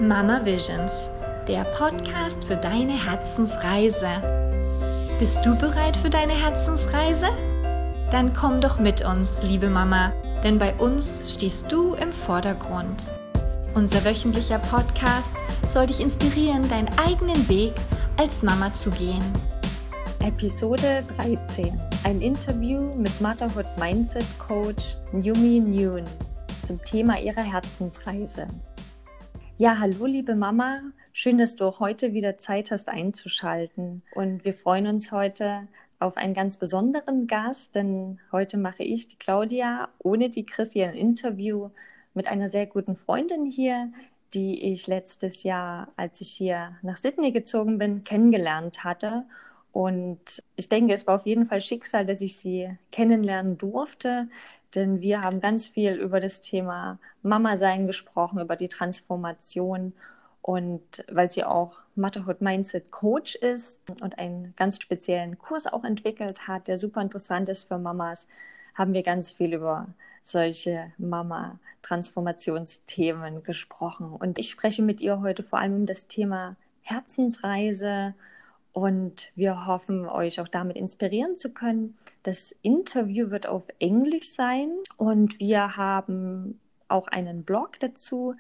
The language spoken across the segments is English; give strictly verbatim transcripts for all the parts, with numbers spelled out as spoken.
Mama Visions, der Podcast für deine Herzensreise. Bist du bereit für deine Herzensreise? Dann komm doch mit uns, liebe Mama, denn bei uns stehst du im Vordergrund. Unser wöchentlicher Podcast soll dich inspirieren, deinen eigenen Weg als Mama zu gehen. Episode dreizehn. Ein Interview mit Motherhood Mindset Coach Yumi Nguyen zum Thema ihrer Herzensreise. Ja, hallo liebe Mama, schön, dass du auch heute wieder Zeit hast einzuschalten. Und wir freuen uns heute auf einen ganz besonderen Gast, denn heute mache ich, die Claudia, ohne die Christi ein Interview mit einer sehr guten Freundin hier, die ich letztes Jahr, als ich hier nach Sydney gezogen bin, kennengelernt hatte. Und ich denke, es war auf jeden Fall Schicksal, dass ich sie kennenlernen durfte, denn wir haben ganz viel über das Thema Mama-Sein gesprochen, über die Transformation. Und weil sie auch Motherhood Mindset Coach ist und einen ganz speziellen Kurs auch entwickelt hat, der super interessant ist für Mamas, haben wir ganz viel über solche Mama-Transformationsthemen gesprochen. Und ich spreche mit ihr heute vor allem um das Thema Herzensreise. Und wir hoffen, euch auch damit inspirieren zu können. Das Interview wird auf Englisch sein und wir haben auch einen Blog dazu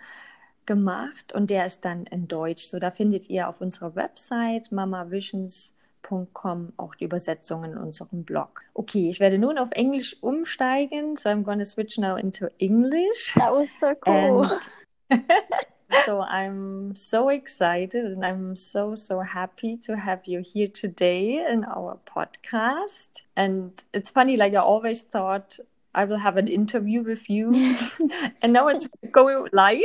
gemacht und der ist dann in Deutsch. So, da findet ihr auf unserer Website mama visions punkt com auch die Übersetzungen in unserem Blog. Okay, ich werde nun auf Englisch umsteigen. So I'm gonna switch now into English. That was so cool. And so I'm so excited and I'm so, so happy to have you here today in our podcast. And it's funny, like I always thought I will have an interview with you and now it's going live.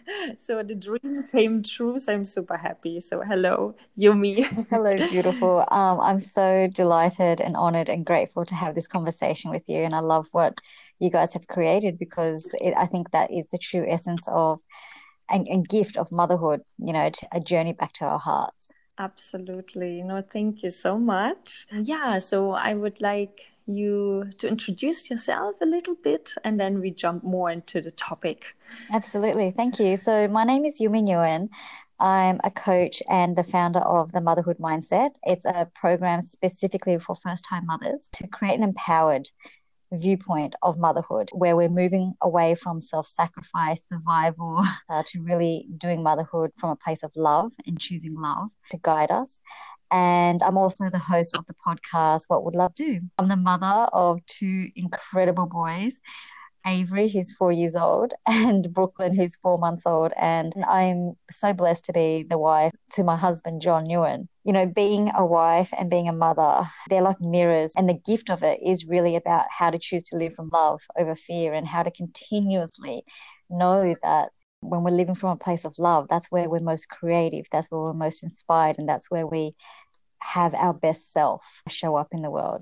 So the dream came true. So I'm super happy. So hello, Yumi. Hello, beautiful. Um, I'm so delighted and honored and grateful to have this conversation with you. And I love what you guys have created because it, I think that is the true essence of And, and gift of motherhood, you know, a journey back to our hearts. Absolutely. No, thank you so much. Yeah, so I would like you to introduce yourself a little bit and then we jump more into the topic. Absolutely. Thank you. So my name is Yumi Nguyen. I'm a coach and the founder of the Motherhood Mindset. It's a program specifically for first-time mothers to create an empowered viewpoint of motherhood where we're moving away from self-sacrifice, survival, uh, to really doing motherhood from a place of love and choosing love to guide us. And I'm also the host of the podcast, What Would Love Do? I'm the mother of two incredible boys, Avery, who's four years old, and Brooklyn, who's four months old. And I'm so blessed to be the wife to my husband, John Nguyen. You know, being a wife and being a mother, they're like mirrors. And the gift of it is really about how to choose to live from love over fear and how to continuously know that when we're living from a place of love, that's where we're most creative, that's where we're most inspired, and that's where we have our best self show up in the world.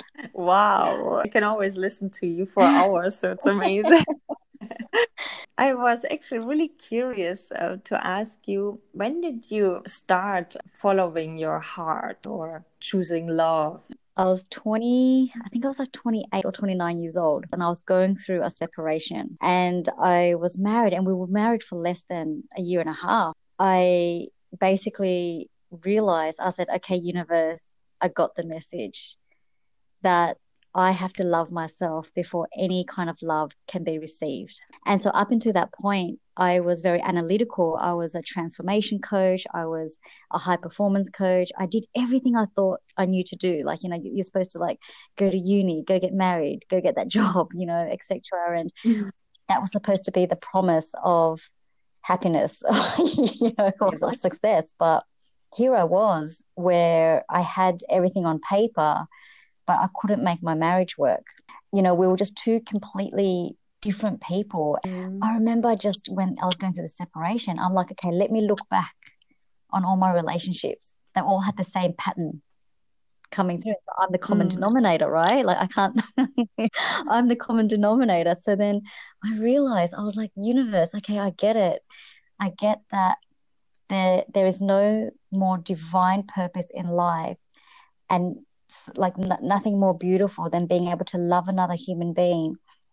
Wow. I can always listen to you for hours, so it's amazing. I was actually really curious uh, to ask you, when did you start following your heart or choosing love? I was twenty, I think I was like twenty-eight or twenty-nine years old, and I was going through a separation. And I was married, and we were married for less than a year and a half. I basically realized, I said, okay, universe, I got the message that I have to love myself before any kind of love can be received. And so up until that point, I was very analytical. I was a transformation coach. I was a high performance coach. I did everything I thought I knew to do. Like, you know, you're supposed to like go to uni, go get married, go get that job, you know, et cetera. And mm-hmm. that was supposed to be the promise of happiness, you know, of success. But here I was where I had everything on paper, but I couldn't make my marriage work. You know, we were just two completely different people. Mm. I remember just when I was going through the separation, I'm like, okay, let me look back on all my relationships. They all had the same pattern coming through. So I'm the common mm. denominator, right? Like I can't, I'm the common denominator. So then I realized, I was like, universe, okay, I get it. I get that there there is no more divine purpose in life and like n- nothing more beautiful than being able to love another human being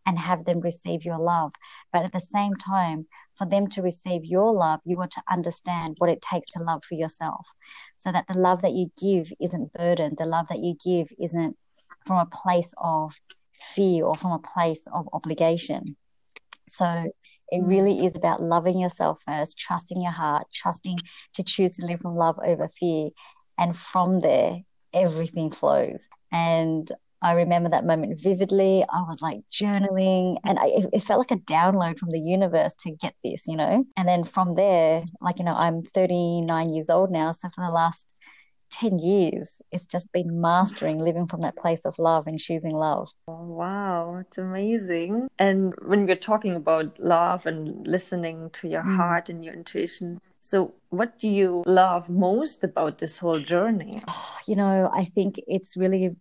and have them receive your love. But at the same time, for them to receive your love, you want to understand what it takes to love for yourself, so that the love that you give isn't burdened. The love that you give isn't from a place of fear or from a place of obligation. So it really is about loving yourself first, trusting your heart, trusting to choose to live from love over fear. And from there, everything flows. And I remember that moment vividly. I was like journaling, and I, it felt like a download from the universe to get this, you know. And then from there, like, you know, I'm thirty-nine years old now. So for the last ten years, it's just been mastering living from that place of love and choosing love. Oh, wow, it's amazing. And when we're talking about love and listening to your Mm. heart and your intuition, so what do you love most about this whole journey? You know, I think it's really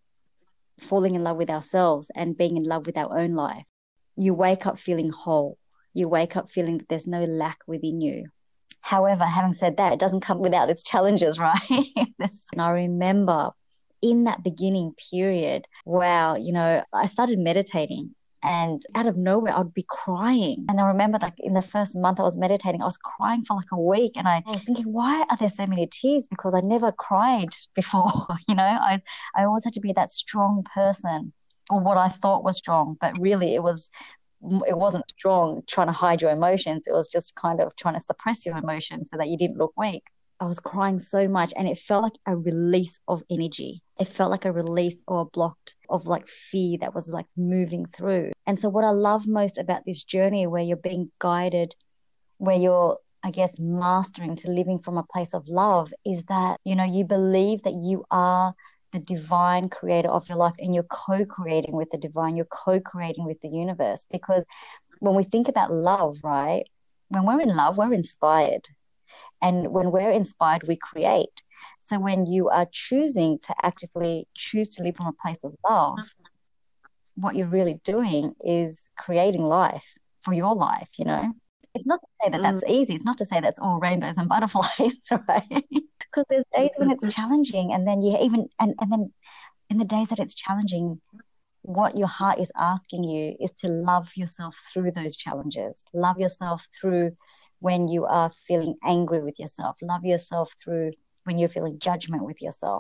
falling in love with ourselves and being in love with our own life. You wake up feeling whole. You wake up feeling that there's no lack within you. However, having said that, it doesn't come without its challenges, right? And I remember in that beginning period, wow, you know, I started meditating, and out of nowhere, I'd be crying. And I remember, like, in the first month I was meditating, I was crying for like a week. And I, I was thinking, why are there so many tears? Because I never cried before, you know. I, I always had to be that strong person, or what I thought was strong. But really, it was it wasn't strong trying to hide your emotions. It was just kind of trying to suppress your emotions so that you didn't look weak. I was crying so much, and it felt like a release of energy. It felt like a release or a block of like fear that was like moving through. And so what I love most about this journey, where you're being guided, where you're, I guess, mastering to living from a place of love, is that, you know, you believe that you are the divine creator of your life, and you're co-creating with the divine, you're co-creating with the universe. Because when we think about love, right, when we're in love, we're inspired. And when we're inspired, we create. So when you are choosing to actively choose to live from a place of love, what you're really doing is creating life for your life, you know. It's not to say that that's easy. It's not to say that's all rainbows and butterflies, right? Because there's days when it's challenging, and then you even, and, and then in the days that it's challenging, what your heart is asking you is to love yourself through those challenges. Love yourself through when you are feeling angry with yourself. Love yourself through when you're feeling judgment with yourself.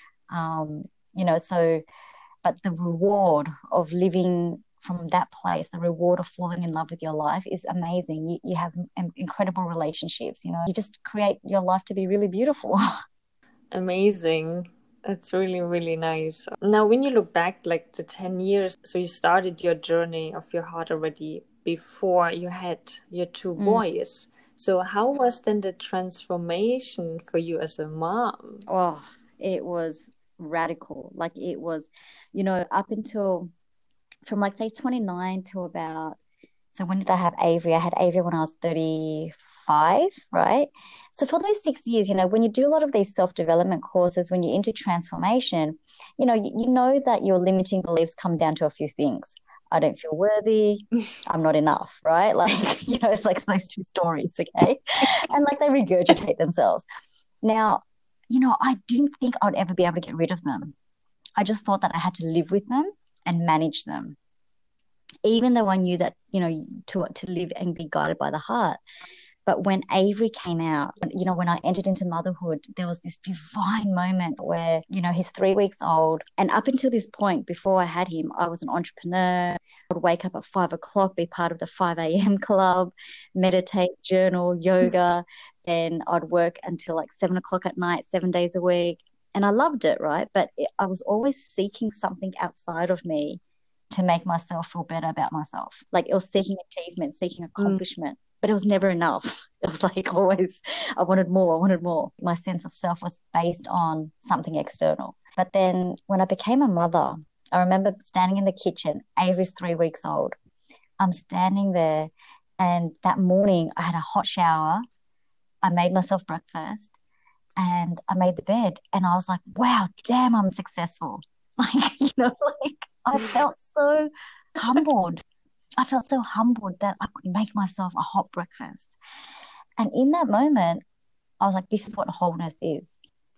Um, you know, so, but the reward of living from that place, the reward of falling in love with your life is amazing. You, you have incredible relationships, you know, you just create your life to be really beautiful. Amazing. That's really, really nice. Now, when you look back like the ten years, so you started your journey of your heart already before you had your two Mm. boys. So how was then the transformation for you as a mom? Oh, it was radical. Like, it was, you know, up until from like say twenty-nine to about, so when did I have Avery? I had Avery when I was thirty-five, right? So for those six years, you know, when you do a lot of these self-development courses, when you're into transformation, you know, you, you know that your limiting beliefs come down to a few things. I don't feel worthy. I'm not enough, right? Like, you know, it's like those two stories, okay? And like they regurgitate themselves. Now, you know, I didn't think I'd ever be able to get rid of them. I just thought that I had to live with them and manage them. Even though I knew that, you know, to to live and be guided by the heart. But when Avery came out, you know, when I entered into motherhood, there was this divine moment where, you know, he's three weeks old. And up until this point, before I had him, I was an entrepreneur. I would wake up at five o'clock, be part of the five a.m. club, meditate, journal, yoga. Then I'd work until like seven o'clock at night, seven days a week. And I loved it, right? But it, I was always seeking something outside of me to make myself feel better about myself. Like, it was seeking achievement, seeking accomplishment. Mm. But it was never enough. It was like always, I wanted more, I wanted more. My sense of self was based on something external. But then when I became a mother, I remember standing in the kitchen. Avery's three weeks old. I'm standing there, and that morning I had a hot shower. I made myself breakfast, and I made the bed, and I was like, wow, damn, I'm successful. Like, you know, like I felt so humbled. I felt so humbled that I could make myself a hot breakfast. And in that moment, I was like, this is what wholeness is.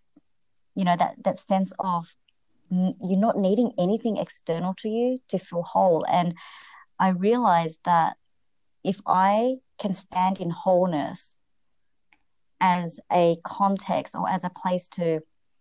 You know, that, that sense of n- you're not needing anything external to you to feel whole. And I realized that if I can stand in wholeness as a context or as a place to,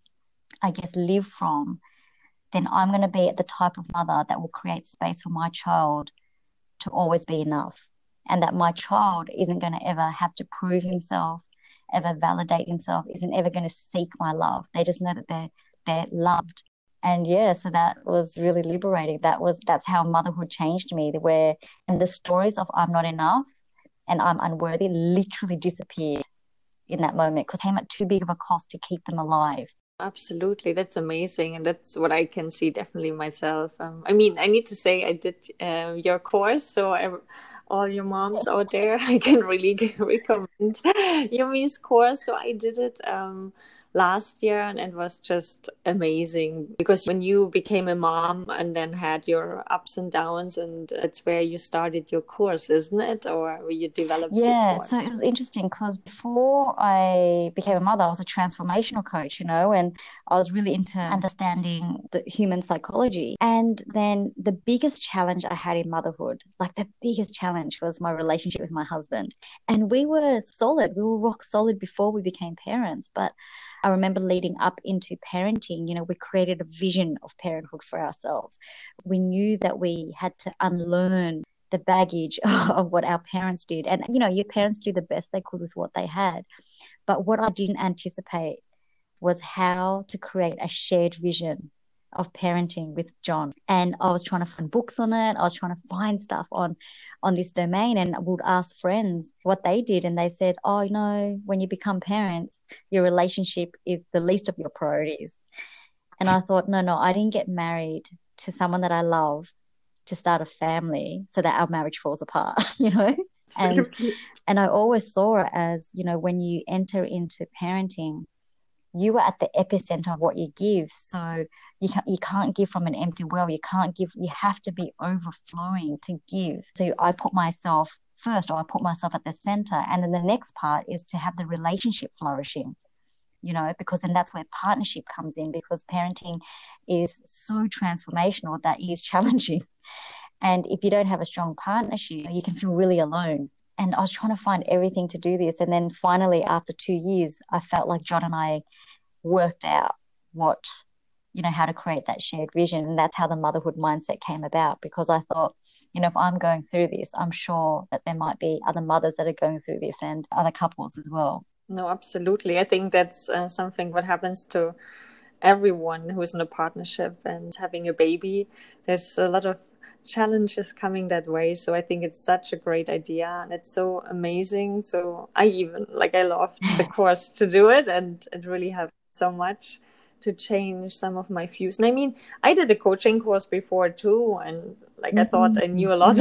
I guess, live from, then I'm going to be the type of mother that will create space for my child to always be enough. And that my child isn't going to ever have to prove himself, ever validate himself, isn't ever going to seek my love. They just know that they're they're loved. And yeah, so that was really liberating. That was that's how motherhood changed me, where and the stories of I'm not enough and I'm unworthy literally disappeared in that moment because it came at too big of a cost to keep them alive. Absolutely. That's amazing. And that's what I can see definitely myself. Um, I mean, I need to say I did uh, your course. So I, all your moms out there, I can really recommend Yumi's course. So I did it um, last year and it was just amazing because when you became a mom and then had your ups and downs, and it's where you started your course, isn't it? Or where you developed your Yeah, course? so it was interesting because before I became a mother, I was a transformational coach, you know, and I was really into understanding the human psychology. And then the biggest challenge I had in motherhood, like the biggest challenge was my relationship with my husband. And we were solid, we were rock solid before we became parents. But I remember leading up into parenting, you know, we created a vision of parenthood for ourselves. We knew that we had to unlearn the baggage of what our parents did. And, you know, your parents do the best they could with what they had. But what I didn't anticipate was how to create a shared vision of parenting with John. And I was trying to find books on it. I was trying to find stuff on, on this domain, and I would ask friends what they did. And they said, oh, you know, when you become parents, your relationship is the least of your priorities. And I thought, no, no, I didn't get married to someone that I love to start a family so that our marriage falls apart, you know? And, and I always saw it as, you know, when you enter into parenting, you are at the epicenter of what you give. So you can't, you can't give from an empty well. You can't give, you have to be overflowing to give. So I put myself first, or I put myself at the center. And then the next part is to have the relationship flourishing, you know, because then that's where partnership comes in, because parenting is so transformational that it is challenging. And if you don't have a strong partnership, you can feel really alone. And I was trying to find everything to do this. And then finally, after two years, I felt like John and I worked out what, you know, how to create that shared vision. And that's how the motherhood mindset came about, because I thought, you know, if I'm going through this, I'm sure that there might be other mothers that are going through this and other couples as well. No, absolutely. I think that's uh, something what happens to everyone who's in a partnership and having a baby. There's a lot of challenges coming that way. So I think it's such a great idea and it's so amazing. So I even, like, I loved the course to do it, and it really helped so much to change some of my views. And I mean, I did a coaching course before too, and like, I thought I knew a lot,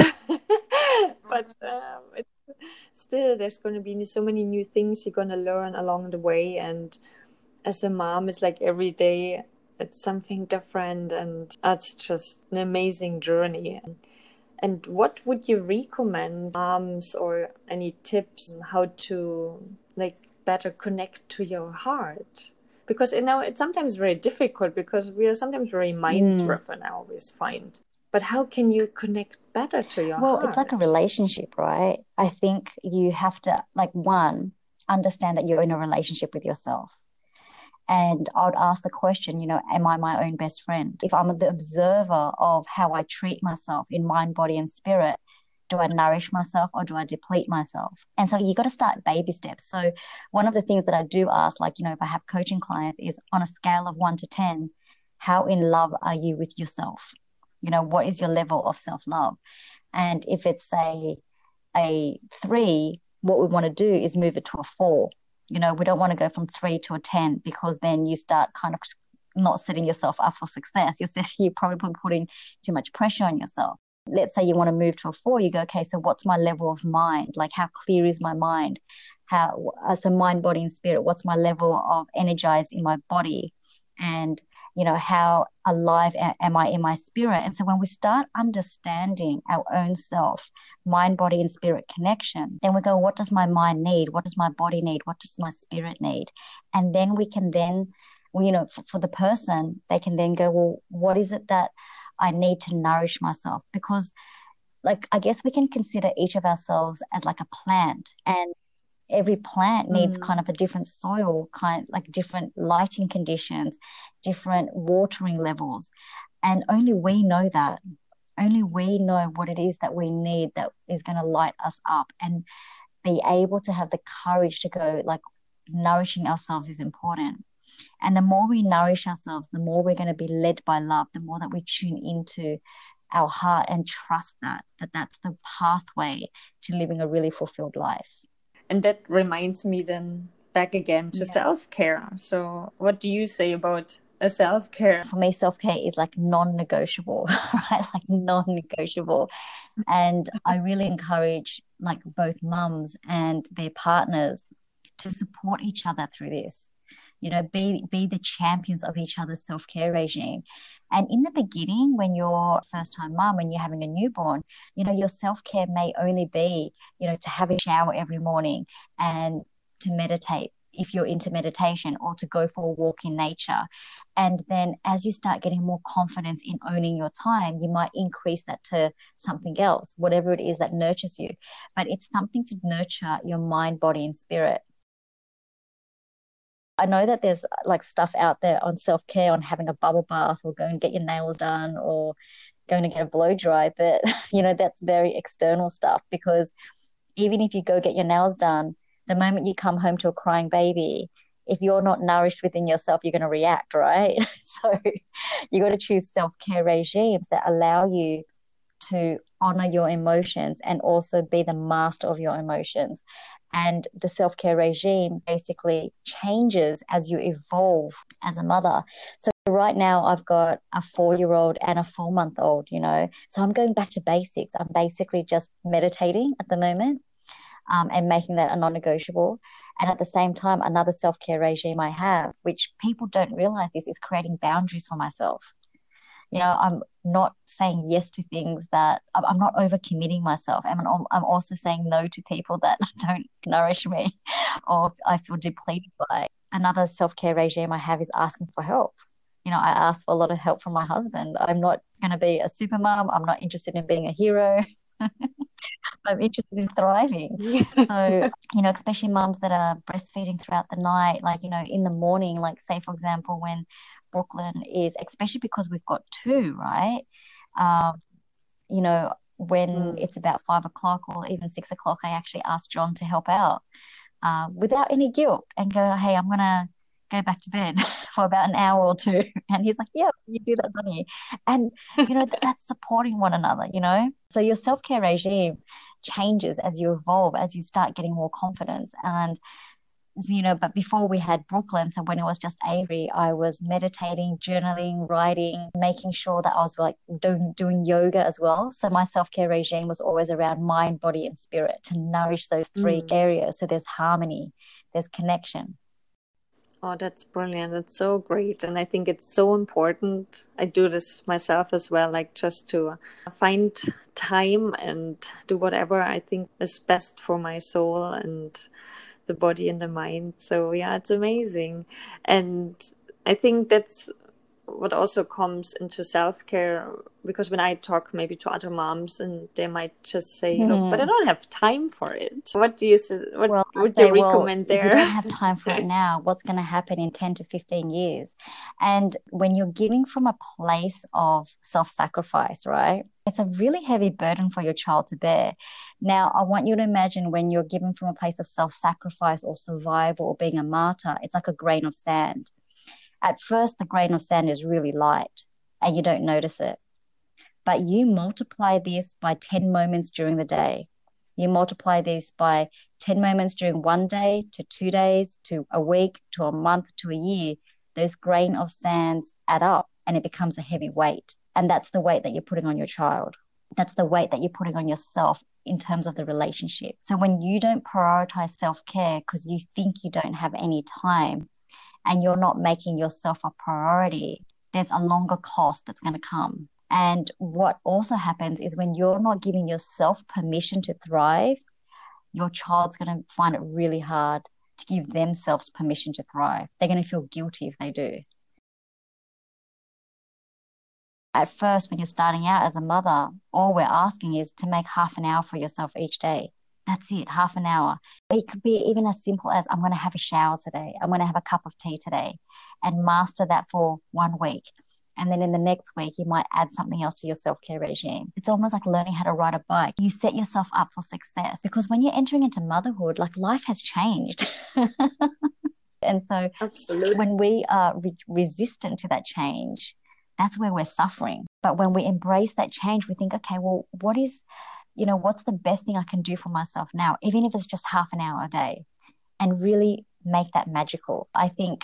but um, it's still, there's going to be so many new things you're going to learn along the way. And as a mom, it's like every day it's something different, and that's just an amazing journey. And what would you recommend moms, or any tips how to like better connect to your heart? Because, you know, it's sometimes very difficult because we are sometimes very mind-driven, mm. I always find. But how can you connect better to your well, heart? Well, it's like a relationship, right? I think you have to, like, one, understand that you're in a relationship with yourself. And I would ask the question, you know, am I my own best friend? If I'm the observer of how I treat myself in mind, body, and spirit, do I nourish myself or do I deplete myself? And so you got to start baby steps. So one of the things that I do ask, like, you know, if I have coaching clients, is on a scale of one to ten, how in love are you with yourself? You know, what is your level of self-love? And if it's, say, a three, what we want to do is move it to a four. You know, we don't want to go from three to a ten, because then you start kind of not setting yourself up for success. You're, you're probably putting too much pressure on yourself. Let's say you want to move to a four, you go, okay, so what's my level of mind? Like, how clear is my mind? How, as a mind, body, and spirit, what's my level of energized in my body? And, you know, how alive am I in my spirit? And so when we start understanding our own self, mind, body, and spirit connection, then we go, what does my mind need? What does my body need? What does my spirit need? And then we can then, well, you know, for, for the person, they can then go, well, what is it that I need to nourish myself? Because like, I guess we can consider each of ourselves as like a plant, and every plant needs Mm. kind of a different soil, kind like different lighting conditions, different watering levels. And only we know that. Only we know what it is that we need that is going to light us up, and be able to have the courage to go, like, nourishing ourselves is important. And the more we nourish ourselves, the more we're going to be led by love, the more that we tune into our heart and trust that, that that's the pathway to living a really fulfilled life. And that reminds me then back again to Yeah. self-care. So what do you say about a self-care? For me, self-care is like non-negotiable, right? Like non-negotiable. And I really encourage like both mums and their partners to support each other through this. You know, be be the champions of each other's self-care regime. And in the beginning, when you're a first-time mum, when you're having a newborn, you know, your self-care may only be, you know, to have a shower every morning and to meditate if you're into meditation, or to go for a walk in nature. And then as you start getting more confidence in owning your time, you might increase that to something else, whatever it is that nurtures you. But it's something to nurture your mind, body, and spirit. I know that there's like stuff out there on self-care, on having a bubble bath, or go and get your nails done, or going to get a blow dry. But, you know, that's very external stuff, because even if you go get your nails done, the moment you come home to a crying baby, if you're not nourished within yourself, you're going to react, right? So you got to choose self-care regimes that allow you to honor your emotions and also be the master of your emotions. And the self-care regime basically changes as you evolve as a mother. So right now I've got a four-year-old and a four-month-old, you know. So I'm going back to basics. I'm basically just meditating at the moment, um, and making that a non-negotiable. And at the same time, another self-care regime I have, which people don't realize this, is creating boundaries for myself. You know, I'm not saying yes to things that I'm not overcommitting myself. And I'm, I'm also saying no to people that don't nourish me or I feel depleted by. Another self-care regime I have is asking for help. You know, I ask for a lot of help from my husband. I'm not going to be a super mom. I'm not interested in being a hero. I'm interested in thriving. So, you know, especially moms that are breastfeeding throughout the night, like, you know, in the morning, like say, for example, when Brooklyn is, especially because we've got two, right? Um, you know, when mm. it's about five o'clock or even six o'clock, I actually ask John to help out uh, without any guilt and go, hey, I'm going to go back to bed for about an hour or two. And he's like, yeah, you do that, don't you? And, you know, th- that's supporting one another, you know? So your self-care regime changes as you evolve, as you start getting more confidence. And, you know, but before we had Brooklyn, so when it was just Avery, I was meditating, journaling, writing, making sure that I was like doing, doing yoga as well. So my self-care regime was always around mind, body, and spirit, to nourish those three mm. areas. So there's harmony, there's connection. Oh, that's brilliant. That's so great. And I think it's so important. I do this myself as well, like just to find time and do whatever I think is best for my soul and the body and the mind. So yeah, it's amazing. And I think that's what also comes into self-care, because when I talk maybe to other moms, and they might just say, mm. look, but I don't have time for it. What do you what well, would say, you recommend well, there? If you don't have time for it now, what's going to happen in ten to fifteen years? And when you're giving from a place of self-sacrifice, right, it's a really heavy burden for your child to bear. Now, I want you to imagine when you're giving from a place of self-sacrifice or survival or being a martyr, it's like a grain of sand. At first, the grain of sand is really light and you don't notice it. But you multiply this by ten moments during the day. You multiply this by ten moments during one day, to two days, to a week, to a month, to a year. Those grain of sands add up and it becomes a heavy weight. And that's the weight that you're putting on your child. That's the weight that you're putting on yourself in terms of the relationship. So when you don't prioritize self-care because you think you don't have any time, and you're not making yourself a priority, there's a longer cost that's going to come. And what also happens is when you're not giving yourself permission to thrive, your child's going to find it really hard to give themselves permission to thrive. They're going to feel guilty if they do. At first, when you're starting out as a mother, all we're asking is to make half an hour for yourself each day. That's it, half an hour. It could be even as simple as, I'm going to have a shower today. I'm going to have a cup of tea today, and master that for one week. And then in the next week, you might add something else to your self-care regime. It's almost like learning how to ride a bike. You set yourself up for success, because when you're entering into motherhood, like, life has changed. And so Absolutely. When we are re- resistant to that change, that's where we're suffering. But when we embrace that change, we think, okay, well, what is, you know, what's the best thing I can do for myself now, even if it's just half an hour a day, and really make that magical. I think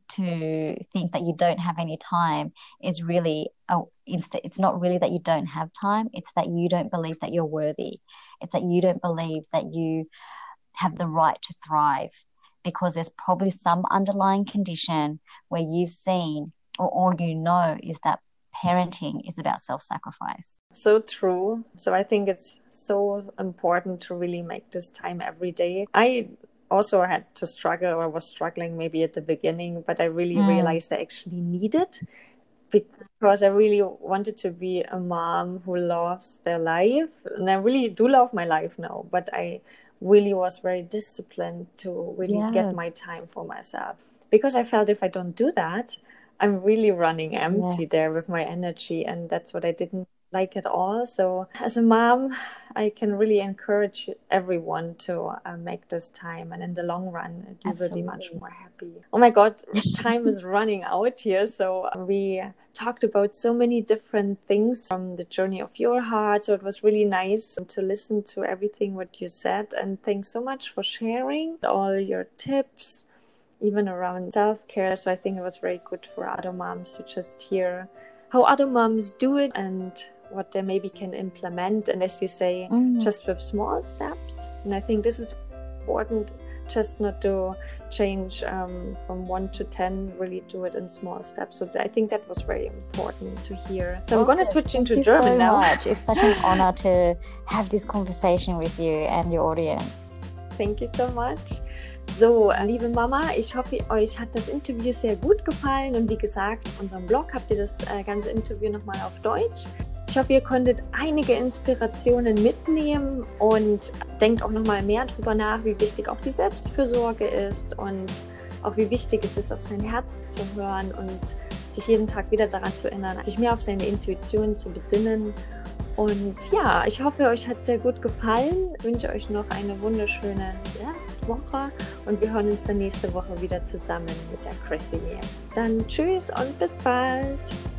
to think that you don't have any time is really, oh, it's not really that you don't have time. It's that you don't believe that you're worthy. It's that you don't believe that you have the right to thrive, because there's probably some underlying condition where you've seen, or all you know is that parenting is about self-sacrifice. So true. So I think it's so important to really make this time every day. I also had to struggle, or was struggling maybe at the beginning, but I really mm. realized I actually need it, because I really wanted to be a mom who loves their life. And I really do love my life now, but I really was very disciplined to really yeah. get my time for myself, because I felt if I don't do that, I'm really running empty yes. there with my energy, and that's what I didn't like at all. So as a mom, I can really encourage everyone to uh, make this time, and in the long run, you will be much more happy. Oh my God, time is running out here. So we talked about so many different things from the journey of your heart. So it was really nice to listen to everything what you said, and thanks so much for sharing all your tips, even around self-care. So I think it was very good for other moms to just hear how other moms do it and what they maybe can implement. And as you say, mm. just with small steps. And I think this is important, just not to change um, from one to ten, really do it in small steps. So I think that was very important to hear. So okay. I'm going to switch into Thank German you so now. Much. It's such an honor to have this conversation with you and your audience. Thank you so much. So, liebe Mama, ich hoffe, euch hat das Interview sehr gut gefallen, und wie gesagt, auf unserem Blog habt ihr das äh, ganze Interview nochmal auf Deutsch. Ich hoffe, ihr konntet einige Inspirationen mitnehmen und denkt auch nochmal mehr darüber nach, wie wichtig auch die Selbstfürsorge ist und auch wie wichtig es ist, auf sein Herz zu hören und sich jeden Tag wieder daran zu erinnern, sich mehr auf seine Intuition zu besinnen. Und ja, ich hoffe, euch hat es sehr gut gefallen. Ich wünsche euch noch eine wunderschöne Restwoche, und wir hören uns dann nächste Woche wieder zusammen mit der Chrissy. Dann tschüss und bis bald.